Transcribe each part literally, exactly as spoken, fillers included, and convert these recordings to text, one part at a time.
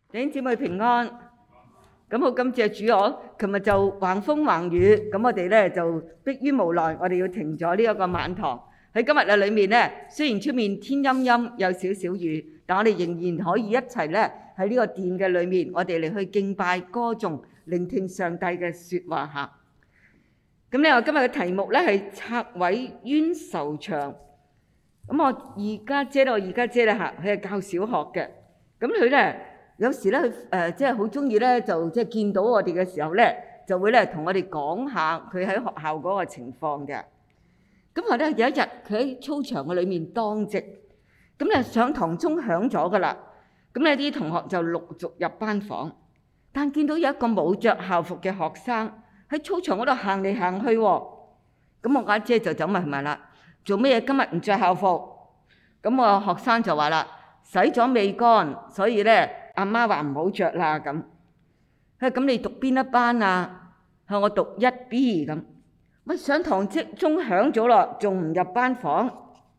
弟兄姊妹平安，咁好感謝主我，琴日就橫風橫雨，咁我哋咧就迫於無奈，我哋要停咗呢一個晚堂。喺今日嘅裏面咧，雖然出面天陰陰有少少雨，但我哋仍然可以一齊咧喺呢個殿嘅裏面，我哋嚟去敬拜、歌頌、聆聽上帝嘅説話嚇。咁咧，我今日嘅題目咧係拆毀冤仇牆。咁我二家姐咧，我二家姐咧嚇，佢係教小學嘅，咁佢咧。有時咧，佢誒即係好中意咧，就即係見到我哋嘅時候咧，就會咧同我哋講下佢喺學校嗰個情況嘅。咁後咧有一日，佢喺操場嘅裏面當值，咁咧上堂鐘響咗噶啦。咁咧啲同學就陸續入班房，但見到有一個冇著校服嘅學生喺操場嗰度行嚟行去喎。咁我家姐就走埋去問啦：做咩嘢今日唔著校服？咁我學生就話啦：洗咗未乾，所以咧。阿媽話唔好著啦咁，佢話咁你讀邊一班啊？佢話我讀一 B 咁。喂，上堂即鐘響咗咯，仲唔入班房？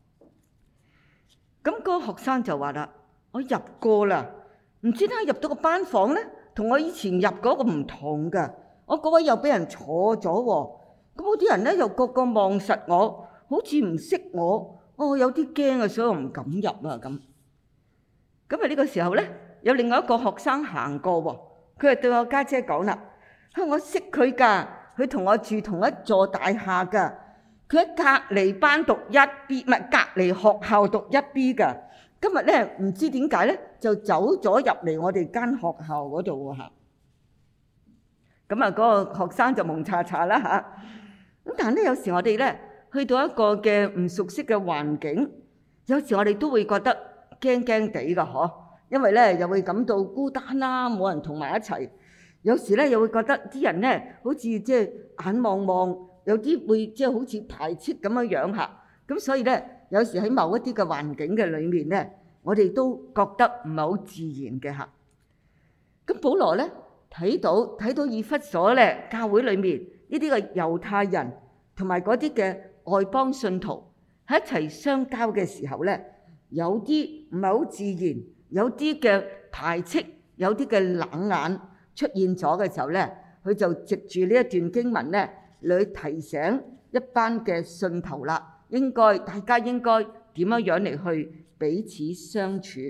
咁嗰個學生就話啦：我入過啦，唔知點解入到個班房咧，同我以前入嗰個唔同㗎。我嗰位又俾人坐咗喎，咁嗰啲人咧又個個望實我，好似唔識我，我有啲驚啊，所以我唔敢入啊咁。咁啊呢個時候咧。有另外一個學生行過喎，佢就對我家姐講啦：佢話我識佢㗎，佢同我住同一座大廈㗎，佢喺隔離班讀一 B， 唔係隔離學校讀一 B 㗎。今日咧唔知點解咧，就走咗入嚟我哋間學校嗰度喎嚇。咁啊，嗰個學生就蒙查查啦嚇。咁但係咧，有時我哋咧去到一個嘅唔熟悉嘅環境，有時我哋都會覺得驚驚地㗎嗬。因為咧又會感到孤單啦，冇人同埋一齊。有時咧又會覺得啲人咧好似即係眼望望，有啲會即係好似排斥咁樣樣嚇。咁所以咧，有時喺某一啲嘅環境嘅裏面咧，我哋都覺得唔係好自然嘅嚇。咁保羅咧睇到睇到以弗所咧教會裏面呢啲嘅猶太人同埋嗰啲嘅外邦信徒喺一齊相交嘅時候咧，有啲唔係好自然。有啲嘅排斥，有啲嘅冷眼出現咗嘅時候咧，佢就藉住呢一段經文咧，嚟提醒一班嘅信徒啦，應該大家應該點樣樣嚟去彼此相處。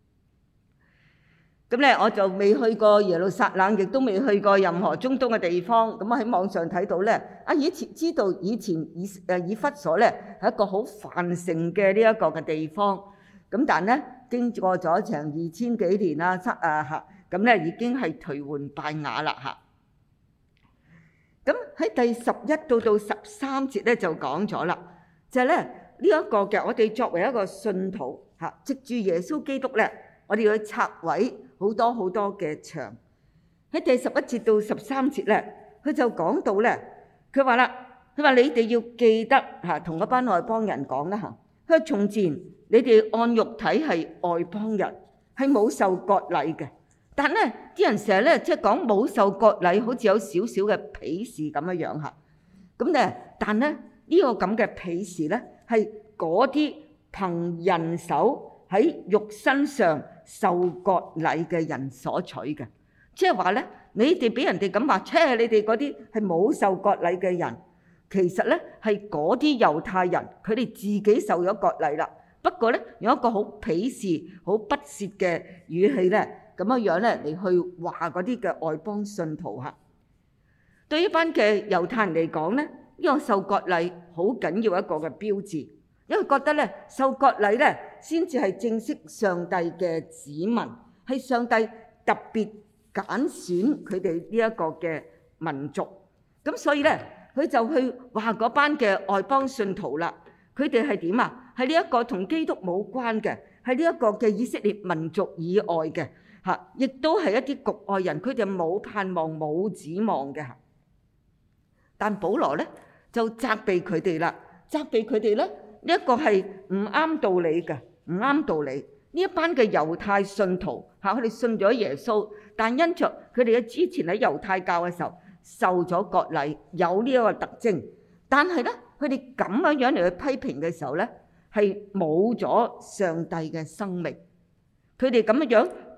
咁咧，我就未去過耶路撒冷，亦都未去過任何中東嘅地方。咁我喺網上睇到咧，啊以前知道以前以誒以弗所咧係一個好繁盛嘅呢一個嘅地方。咁但咧，經過咗成二千幾年啦，七啊嚇，咁咧已經係頹垣敗瓦啦嚇。咁喺第十一到到十三節咧就講咗啦，就係咧呢一個嘅我哋作為一個信徒嚇，藉住耶穌基督咧，我哋要去拆毀好多好多嘅牆。喺第十一節到十三節咧，佢就講到咧，佢話啦，佢話你哋要記得嚇，同一班外邦人講啦嚇，佢話從前。你哋按肉體係外邦人，係冇受割禮嘅。但咧，啲人成日咧即係講冇受割禮，好似有少少嘅鄙視咁樣樣嚇。咁咧，但咧呢個咁嘅鄙視咧，係嗰啲憑人手喺肉身上受割禮嘅人所取嘅。即係話咧，你哋俾人哋咁話，切你哋嗰啲係冇受割禮嘅人，其實咧係嗰啲猶太人，佢哋自己受咗割禮啦。不過咧，用一個好鄙視、好不屑嘅語氣咧，咁樣樣咧嚟去話嗰啲嘅外邦信徒嚇。對於班嘅猶太人嚟講咧，呢個受割禮好緊要一個嘅標誌，因為覺得咧受割禮咧先至係正式上帝嘅子民，係上帝特別揀選佢哋呢一個嘅民族。咁所以咧，佢就去話嗰班嘅外邦信徒啦，佢哋係點啊？係呢一個同基督冇關嘅，係呢一個嘅以色列民族以外嘅嚇，亦都係一啲局外人，佢哋冇盼望、冇指望嘅。但保羅咧就責備佢哋啦，責備佢哋咧呢一個係唔啱道理嘅，唔啱道理。呢一班嘅猶太信徒嚇，佢哋信咗耶穌，但因着佢哋嘅之前喺猶太教嘅時候受咗割禮，有呢一個特徵，但係咧佢哋咁樣樣嚟去批評嘅時候咧，係冇咗上帝嘅生命。佢哋咁樣樣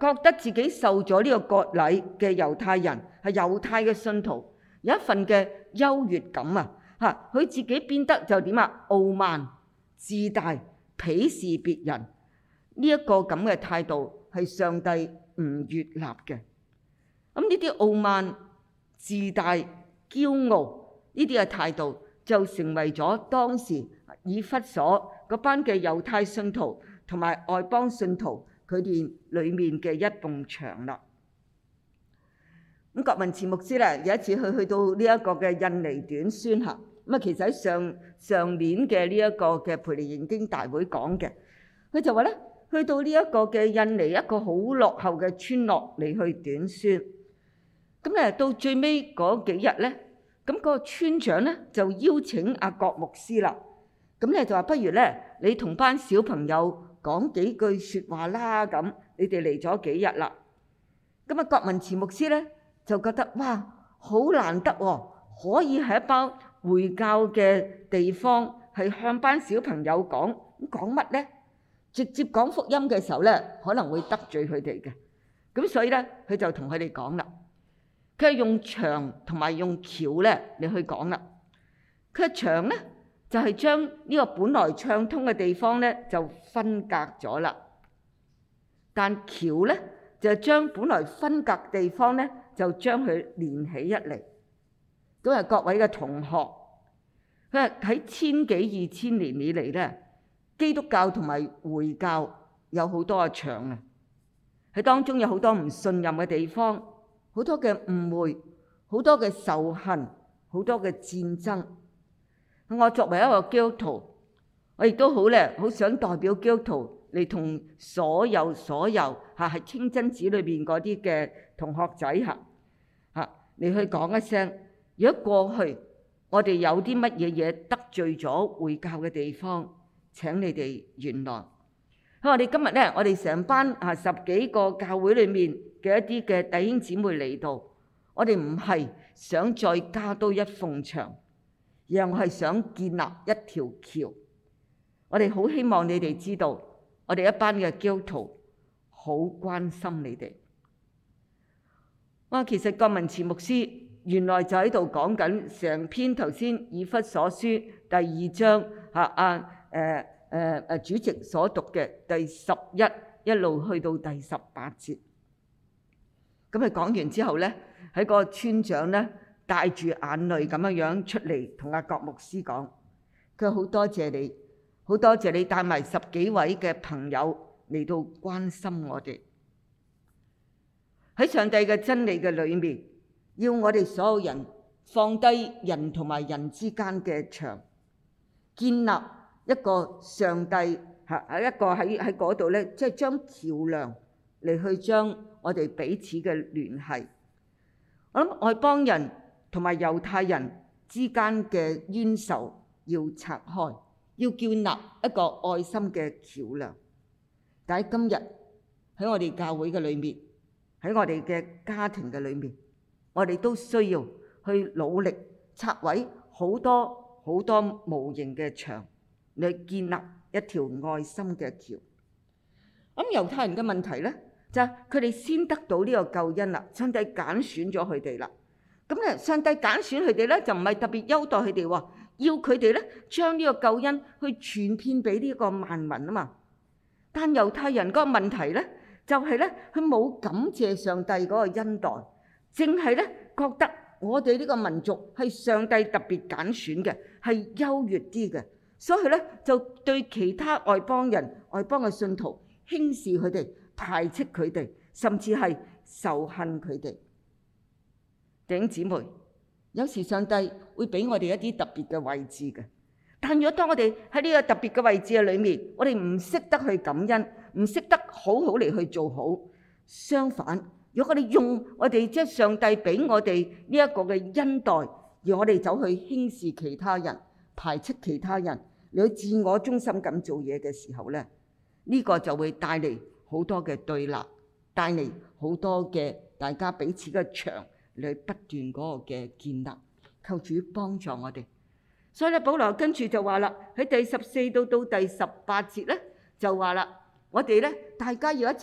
覺得自己受咗呢個割禮嘅猶太人，係猶太嘅信徒，有一份嘅優越感啊！嚇，佢自己變得就點啊？傲慢、自大、鄙視別人，呢一個咁嘅態度係上帝唔悅納嘅。咁呢啲傲慢、自大、驕傲呢啲嘅態度，就成為咗當時以弗所嗰班嘅猶太信徒同埋外邦信徒佢哋裡面嘅一埲牆啦。咁郭文慈牧師咧有一次去去到呢一個嘅印尼短宣嚇，咁啊其實喺上上年嘅呢一個嘅培靈研經大會講嘅，佢就話咧去到呢一個嘅印尼一個好落後嘅村落嚟去短宣，咁咧到最尾嗰幾日咧，咁個村長咧就邀請阿郭牧師啦，咁咧就話不如咧你同班小朋友講幾句説話啦，咁你哋嚟咗幾日啦，咁啊郭文慈牧師咧就覺得哇好難得喎，可以喺一班回教嘅地方係向班小朋友講，咁講乜咧？直接講福音嘅時候咧，可能會得罪佢哋嘅，咁所以咧佢就同佢哋講啦。佢係用牆同埋用橋咧嚟去講啦。佢嘅牆咧就係將呢個本來暢通嘅地方咧就分隔咗啦，但橋咧就係將本來分隔地方咧就將佢連起一嚟。咁啊，各位嘅同學，佢話喺千幾二千年以嚟咧，基督教同埋回教有好多嘅牆啊，喺當中有好多唔信任嘅地方。好多嘅誤會，好多嘅仇恨，好多嘅戰爭。我作為一個基督徒，我亦都好咧，好想代表基督徒嚟同所有所有嚇係清真寺裏邊嗰啲嘅同學仔嚇嚇嚟去講一聲。如果過去我哋有啲乜嘢嘢得罪咗回教嘅地方，請你哋原諒。我哋今日咧，我哋成班啊十幾個教會裏面嘅一啲嘅弟兄姊妹嚟到，我哋唔係想再加多一埲牆，而係我係想建立一條橋。我哋好希望你哋知道，我哋一班嘅基督徒好關心你哋。哇！其實郭文慈牧師原來就喺度講緊成篇頭先以弗所書第二章嚇啊誒。誒誒，主席所讀嘅第十一一路去到第十八節，咁佢講完之後咧，喺個村長咧帶住眼淚咁樣樣出嚟同阿郭牧師講，佢話好多謝你，好多謝你帶埋十幾位嘅朋友嚟到關心我哋。喺上帝嘅真理嘅裏面，要我哋所有人放低人同埋人之間嘅牆，建立一個上帝嚇喺一個喺喺嗰度咧，即係將橋樑嚟去將我哋彼此嘅聯繫。我諗外邦人同埋猶太人之間嘅冤仇要拆開，要建立一個愛心嘅橋樑。但喺今日喺我哋教會嘅裏面，喺我哋嘅家庭嘅裏面，我哋都需要去努力拆毀好多好多無形嘅牆，嚟建立一條愛心嘅橋。咁猶太人嘅問題咧，就係佢哋先得到呢個救恩啦，上帝揀選咗佢哋啦。咁咧，上帝揀選佢哋咧，就唔係特別優待佢哋喎，要佢哋咧將呢個救恩去傳遍俾呢個萬民啊嘛。但猶太人嗰個問題咧，就係咧佢冇感謝上帝嗰個恩待，淨係咧覺得我哋呢個民族係上帝特別揀選嘅，係優越啲嘅。所以咧，就對其他外邦人、外邦嘅信徒輕視佢哋、排斥佢哋，甚至係仇恨佢哋。弟兄姊妹，有時上帝會俾我哋一啲特別嘅位置嘅，但如果當我哋喺呢個特別嘅位置嘅裏面，我哋唔識得去感恩，唔識得好好嚟去做好，相反，如果我哋用我哋即係上帝俾我哋呢一個嘅恩待，而我哋走去輕視其他人、排斥其他人，你去自我中心咁做嘢嘅時候咧，呢個就會帶嚟好多嘅對立，帶嚟好多嘅大家彼此嘅牆嚟不斷嗰個嘅建立。求主幫助我哋。所以咧，保羅跟住就話啦，喺第十四到到第十八節咧就話啦，我哋咧大家要一齊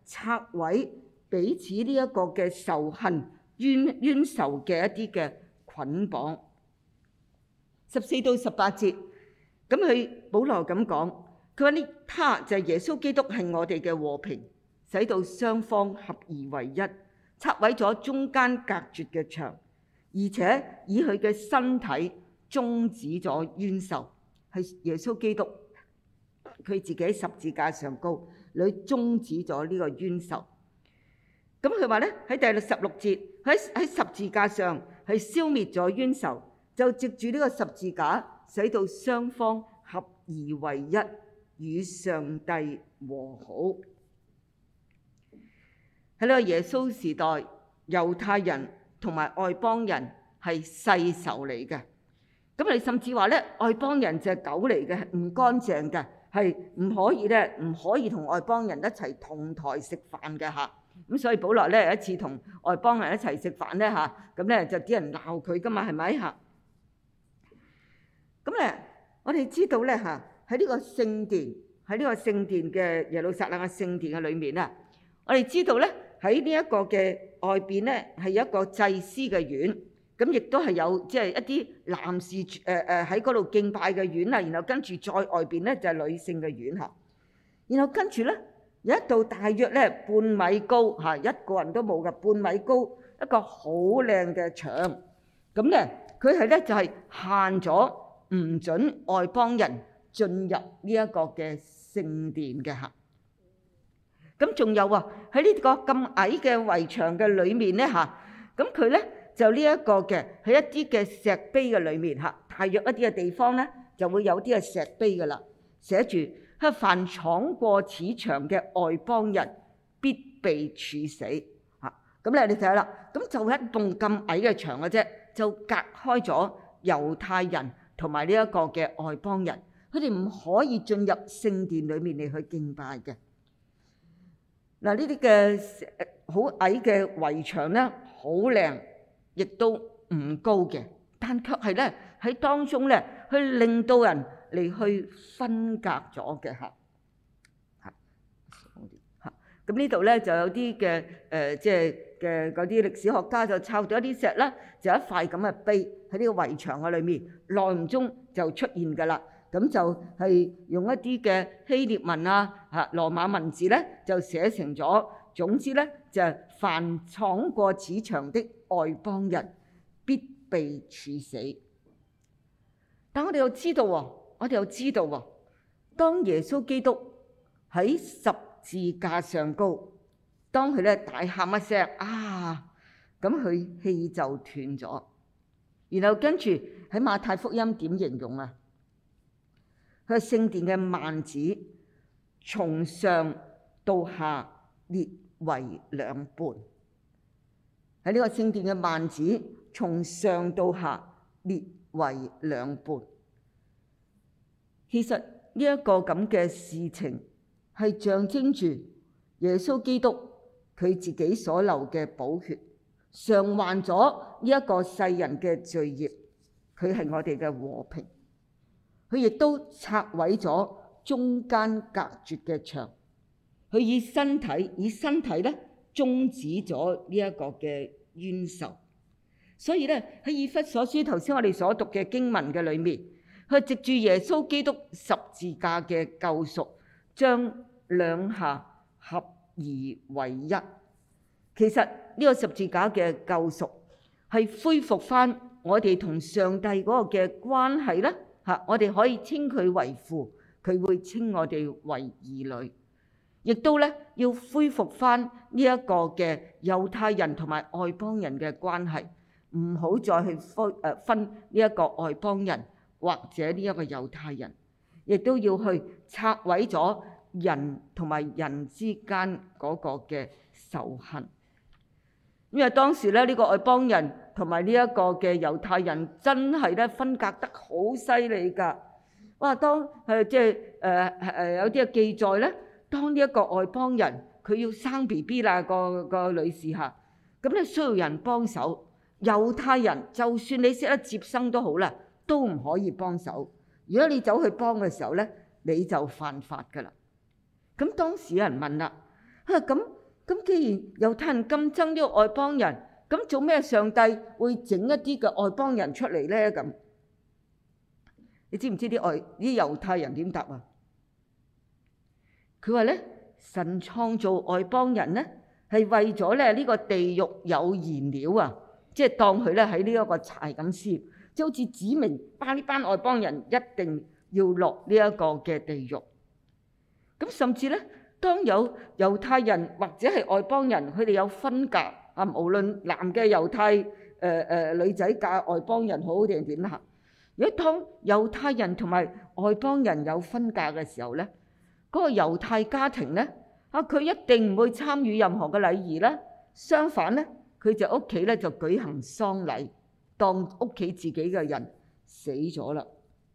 拆毀彼此呢一個嘅仇恨、冤冤仇嘅一啲嘅捆綁。十四到十八節，咁佢保羅咁講，佢話呢，他就係耶穌基督係我哋嘅和平，使到雙方合而為一，拆毀咗中間隔絕嘅牆，而且以佢嘅身體終止咗冤仇。係耶穌基督佢自己喺十字架上高，你終止咗呢個冤仇。咁佢話咧，喺第十六節，喺喺十字架上係消滅咗冤仇，就藉住呢個十字架，使到雙方合而為一，與上帝和好。喺呢個耶穌時代，猶太人同埋外邦人係世仇嚟嘅。咁你甚至話咧，外邦人就係狗嚟嘅，唔乾淨嘅，係唔可以咧，唔可以同外邦人一齊同台食飯嘅嚇。咁所以保羅咧有一次同外邦人一齊食飯咧嚇，咁咧就啲人鬧佢噶嘛，係咪嚇？咁咧，我哋知道咧嚇，喺呢個聖殿，喺呢個聖殿嘅耶路撒冷嘅聖殿嘅裏面啊，我哋知道咧喺呢一個嘅外邊咧係有一個祭司嘅院。咁亦都係有即係一啲男士誒誒喺嗰度敬拜嘅院啊，然後跟住再外邊咧就係女性嘅院嚇，然後跟住咧有一道大約咧半米高嚇，一個人都冇嘅半米高一個好靚嘅牆，咁咧佢係咧就係限咗唔準外邦人進入呢一個嘅聖殿嘅嚇。咁仲有啊喺呢個咁矮嘅圍牆嘅裏面咧嚇，咁佢咧。就呢一個嘅喺一啲嘅石碑嘅裏面嚇，大約一啲嘅地方咧就會有啲嘅石碑噶啦，寫住係凡闖過此牆嘅外邦人必被處死嚇。咁咧你睇下啦，咁就一棟咁矮嘅牆嘅啫，就隔開咗猶太人同埋呢一個嘅外邦人，佢哋唔可以進入聖殿裏面嚟去敬拜嘅。嗱，呢啲嘅好矮嘅圍牆咧，好靚。亦都唔高嘅，但卻係咧喺當中咧，去令到人嚟去分隔咗嘅嚇嚇嚇。咁呢度咧就有啲嘅誒，即係嘅嗰啲歷史學家就抄咗一啲石啦，就一塊咁嘅碑喺呢個圍牆嘅裏面，內唔中就出現㗎啦。咁就係用一啲嘅希臘文啊嚇羅馬文字咧，就寫成咗。總之咧就係凡闖過此牆的外邦人必被處死。但我哋又知道喎，我哋又知道喎，當耶穌基督喺十字架上高，當佢咧大喊一聲啊，咁佢氣就斷咗。然後跟住喺馬太福音點形容啊？佢係聖殿嘅幔子從上到下裂為兩半。喺呢個聖殿嘅幔子從上到下裂為兩半。其實呢一個咁嘅事情係象徵住耶穌基督佢自己所流嘅寶血，償還咗呢一個世人嘅罪孽。佢係我哋嘅和平，佢亦都拆毀咗中間隔絕嘅牆。佢以身體以身體咧終止咗呢一個嘅冤仇。所以咧喺以弗所書頭先我哋所讀嘅經文嘅裏面，佢藉住耶穌基督十字架嘅救贖，將兩下合而為一。其實呢個十字架嘅救贖係恢復翻我哋同上帝嗰個嘅關係啦。嚇，我哋可以稱佢為父，佢會稱我哋為兒女。亦都咧要恢復翻呢一個嘅猶太人同埋外邦人嘅關係，唔好再去分誒分呢一個外邦人或者呢一個猶太人，亦都要去拆毀咗人同埋人之間嗰個嘅仇恨。因為當時咧呢個外邦人同埋呢一個嘅猶太人真係咧分隔得好犀利㗎。哇！當誒即係誒誒有啲嘅記載咧。當呢一個外邦人佢要生 B B 啦，個個女士嚇，咁咧需要人幫手。猶太人就算你識得接生都好啦，都唔可以幫手。如果你走去幫嘅時候咧，你就犯法噶啦。咁當時有人問啦， 啊咁咁，既然猶太人咁憎呢個外邦人，咁做咩上帝會整一啲嘅外邦人出嚟咧？咁你知唔知啲外啲猶太人點答啊？佢話咧，神創造外邦人咧，係為咗咧呢個地獄有燃料啊，即係當佢咧喺呢一個柴咁燒，即係好似指明班呢班外邦人一定要落呢一個嘅地獄。咁甚至咧，當有猶太人或者係外邦人，佢哋有分隔啊，無論男嘅猶太誒誒女仔嫁外邦人好定係點啦。如果當猶太人同埋外邦人有分隔嘅時候咧，嗰個猶太家庭咧，啊佢一定唔會參與任何嘅禮儀啦。相反咧，佢就屋企咧就舉行喪禮，當屋企自己嘅人死咗啦。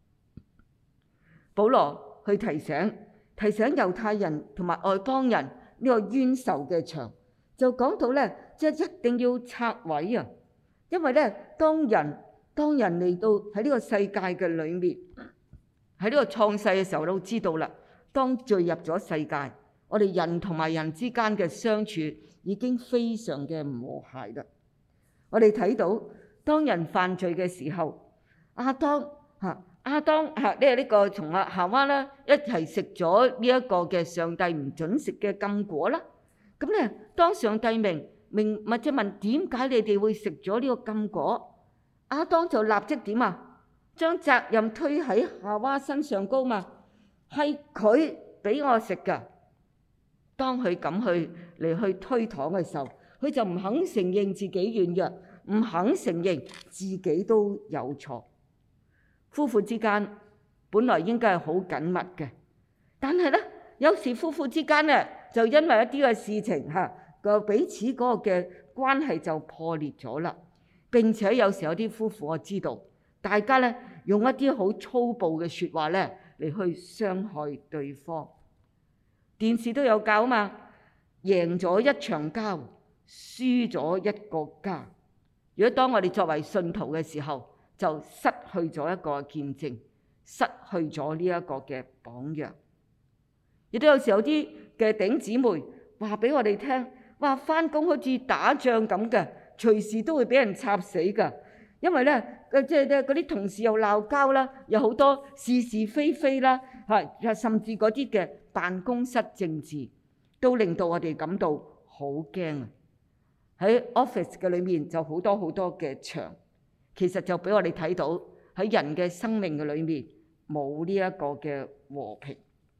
保羅去提醒提醒猶太人同埋外邦人呢個冤仇嘅牆，就講到咧，即係一定要拆毀啊！因為咧，當人當人嚟到喺呢個世界嘅裏面，喺呢個創世嘅時候都知道啦。當墜入咗世界，我哋人同埋人之間嘅相處已經非常嘅唔和諧啦。我哋睇到當人犯罪嘅時候，亞當嚇亞當嚇呢呢個從阿夏娃啦一齊食咗呢一個嘅上帝唔準食嘅禁果啦。咁咧，當上帝明明或者問點解你哋會食咗呢個禁果，亞當就立即點啊？將責任推喺夏娃身上高嘛。係佢俾我食㗎。當佢咁去嚟去推搪嘅時候，佢就唔肯承認自己軟弱，唔肯承認自己都有錯。夫婦之間本來應該係好緊密嘅，但係咧有時夫婦之間咧就因為一啲嘅事情嚇個彼此嗰個嘅關係就破裂咗啦。並且有時有啲夫婦我知道，大家咧用一啲好粗暴嘅説話咧嚟去傷害對方。電視都有教啊嘛，贏咗一場交，輸咗一個家。如果當我哋作為信徒嘅時候，就失去咗一個見證，失去咗呢一個嘅榜樣。亦都有時有啲嘅頂姊妹話俾我哋聽，話返工好似打仗咁嘅，隨時都會俾人插死㗎。因為咧，即係咧嗰啲同事又鬧交啦，有好多是是非非啦，嚇，甚至嗰啲嘅辦公室政治，都令到我哋感到好驚啊！喺 office 嘅裏面就好多好多嘅牆，其實就俾我哋睇到喺人嘅生命嘅裏面冇呢一個嘅和平。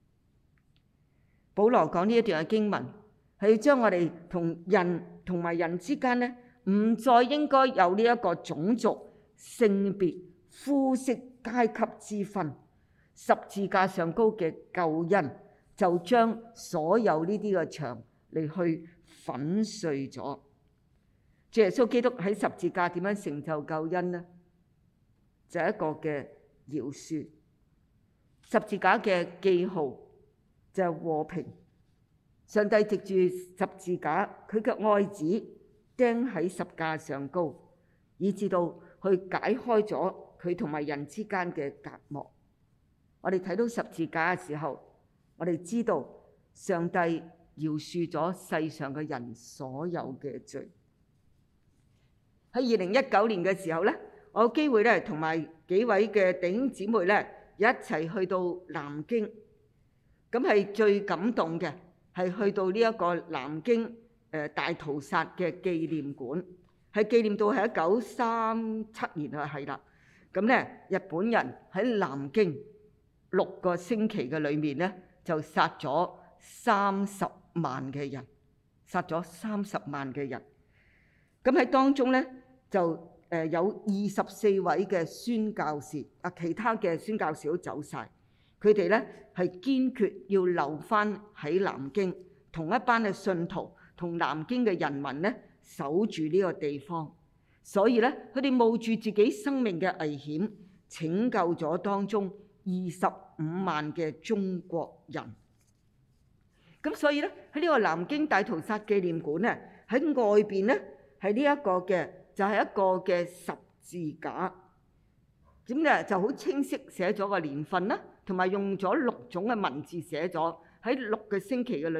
保羅講呢一段嘅經文係要將我哋同人同埋人之間咧，唔再應該有呢一個種族、性別、膚色、階級之分。十字架上高嘅救恩就將所有呢啲嘅牆嚟去粉碎咗。主耶穌基督喺十字架點樣成就救恩呢？就係一個嘅饒恕。十字架嘅記號就係和平。上帝藉住十字架，佢嘅愛子釘喺十架上高，以至到去解開咗佢同埋人之間嘅隔膜。我哋睇到十字架嘅時候，我哋知道上帝饒恕咗世上嘅人所有嘅罪。喺二零一九年嘅時候咧，我有機會咧同埋幾位嘅弟兄姊妹咧一齊去到南京，咁係最感動嘅係去到呢一個南京誒大屠殺嘅紀念館，係紀念到係一九三七年啊，係啦。咁咧日本人喺南京六個星期嘅裏面咧，就殺咗三十萬嘅人，殺咗三十萬嘅人。咁喺當中咧，就誒有二十四位嘅宣教士，啊其他嘅宣教士都走晒。佢哋咧係堅決要留返喺南京，同一班嘅信徒同南京嘅人民咧守住呢個地方。所以咧，佢哋冒住自己生命嘅危險，拯救咗當中二十五萬嘅中國人。咁所以咧，喺呢個南京大屠殺紀念館咧，喺外邊咧係呢一個嘅就係一個嘅十字架，咁咧就好清晰寫咗個年份啦，同埋用咗六種嘅文字寫咗喺六個星期嘅裏面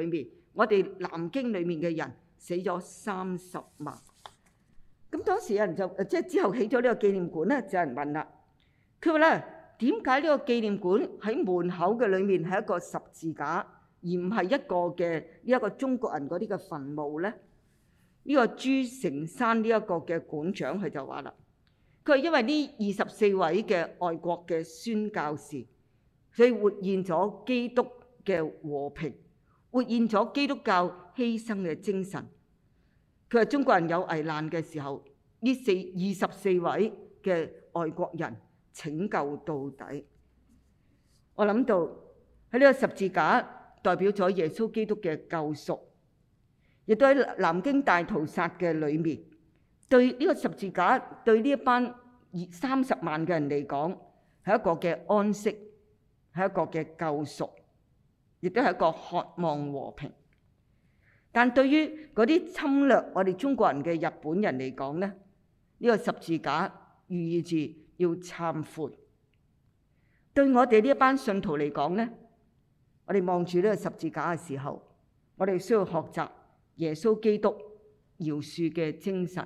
我哋南京裡面嘅人死咗三十萬。咁當時有人就即係之後起咗呢個紀念館咧，就有人問啦，佢話咧，點解呢個紀念館喺門口嘅裡面係一個十字架，而唔係一個嘅呢一個中國人嗰啲嘅墳墓咧？呢個朱成山呢一個嘅館長佢就話啦，佢係因為呢二十四位嘅外國嘅宣教士，所以活現咗基督嘅和平，活現咗基督教犧牲嘅精神。佢話中國人有危難嘅時候，呢四二十四位嘅外國人拯救到底。我諗到喺呢個十字架代表咗耶穌基督嘅救贖，亦都喺南京大屠殺嘅裏面，對呢個十字架對呢一班二三十萬嘅人嚟講係一個嘅安息，係一個嘅救贖，亦都係一個渴望和平。但對於嗰啲侵略我哋中國人嘅日本人嚟講咧，呢個十字架寓意住要懺悔。對我哋呢一班信徒嚟講咧，我哋望住呢個十字架嘅時候，我哋需要學習耶穌基督饒恕嘅精神。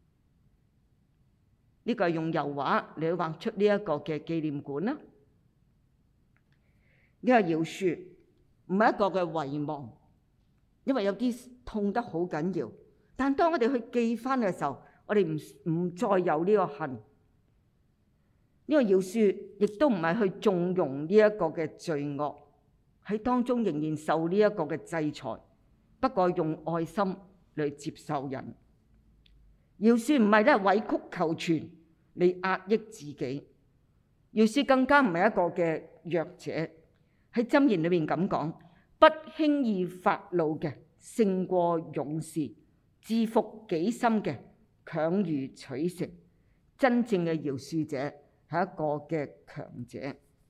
呢個係用油畫嚟畫出呢一個嘅紀念館啦。呢個饒恕唔係一個嘅遺忘。因為有啲痛得好緊要，但當我哋去記翻嘅時候，我哋唔唔再有呢個恨。呢個饒恕亦都唔係去縱容呢一個嘅罪惡，喺當中仍然受呢一個嘅制裁，不過用愛心嚟接受人。饒恕唔係咧委曲求全嚟壓抑自己，饒恕更加唔係一個嘅弱者。喺箴言裏面咁講。不輕易發怒嘅勝過勇士，治服己心嘅強如取城。真正嘅饒恕者係一個嘅強者。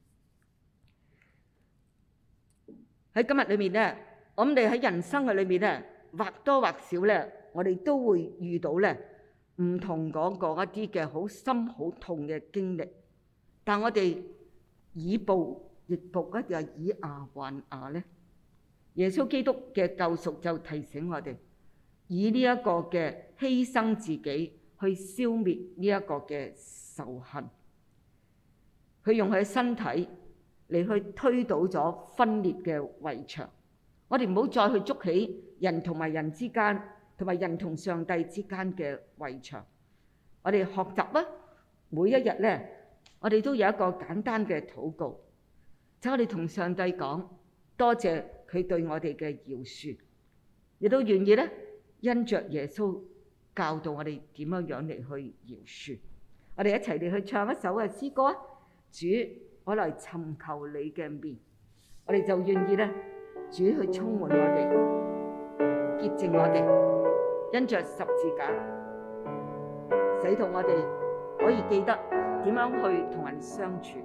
喺今日裏面咧，我哋喺人生嘅裏面咧，或多或少咧，我哋都會遇到咧唔同嗰個一啲嘅好深好痛嘅經歷。但我哋以暴易暴，一定係以牙還牙咧。耶穌基督嘅救贖就提醒我哋，以呢一個嘅犧牲自己去消滅呢一個嘅仇恨。佢用佢嘅身體嚟去推倒咗分裂嘅圍牆。我哋唔好再去築起人同埋人之間，同埋人同上帝之間嘅圍牆。我哋學習啊，每一日咧，我哋都有一個簡單嘅禱告，就我哋同上帝講多謝佢對我哋嘅饒恕，亦都願意咧因着耶穌教導我哋點樣樣嚟去饒恕。我哋一齊嚟去唱一首嘅詩歌啊！主，我嚟尋求你嘅面，我哋就願意咧，主去充滿我哋，潔淨我哋，因着十字架，使到我哋可以記得點樣去同人相處。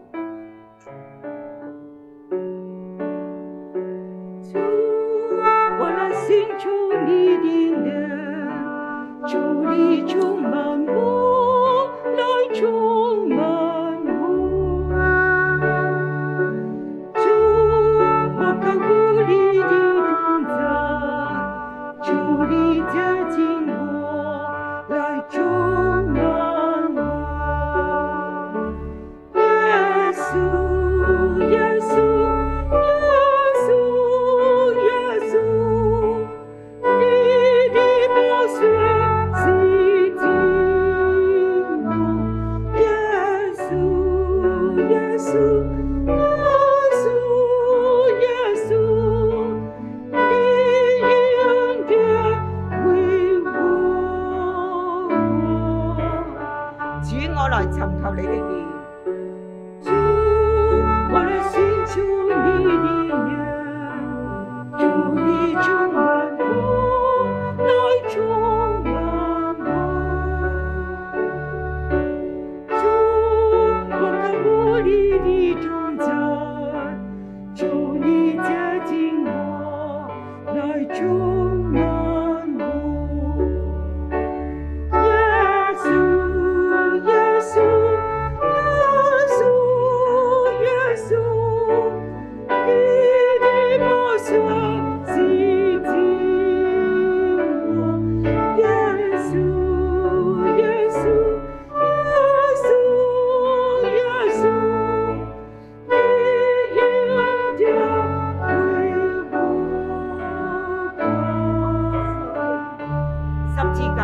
尋求你的臉，求你充滿我，來充滿我。主，我靠無力的同在，求你接近我，來充滿我。耶穌，耶穌。耶穌，耶穌。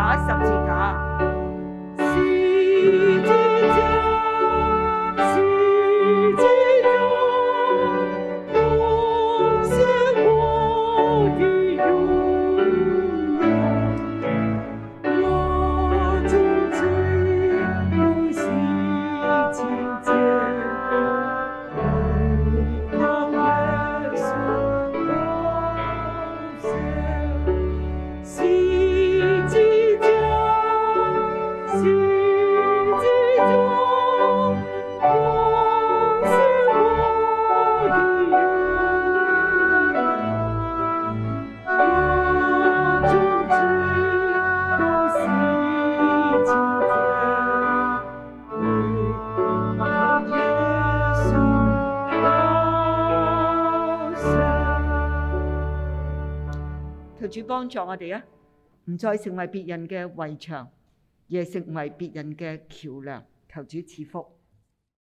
架，十字架。 十字架，十字架，光是我的榮耀。我從最用心親近，為靠耶穌寶血。十字架，十字架，光是我的榮耀。我從最用心親近，為靠耶穌寶血。 求主幫助我哋啊，唔再成為別人嘅圍牆，而係成為別人嘅橋梁。求主賜福。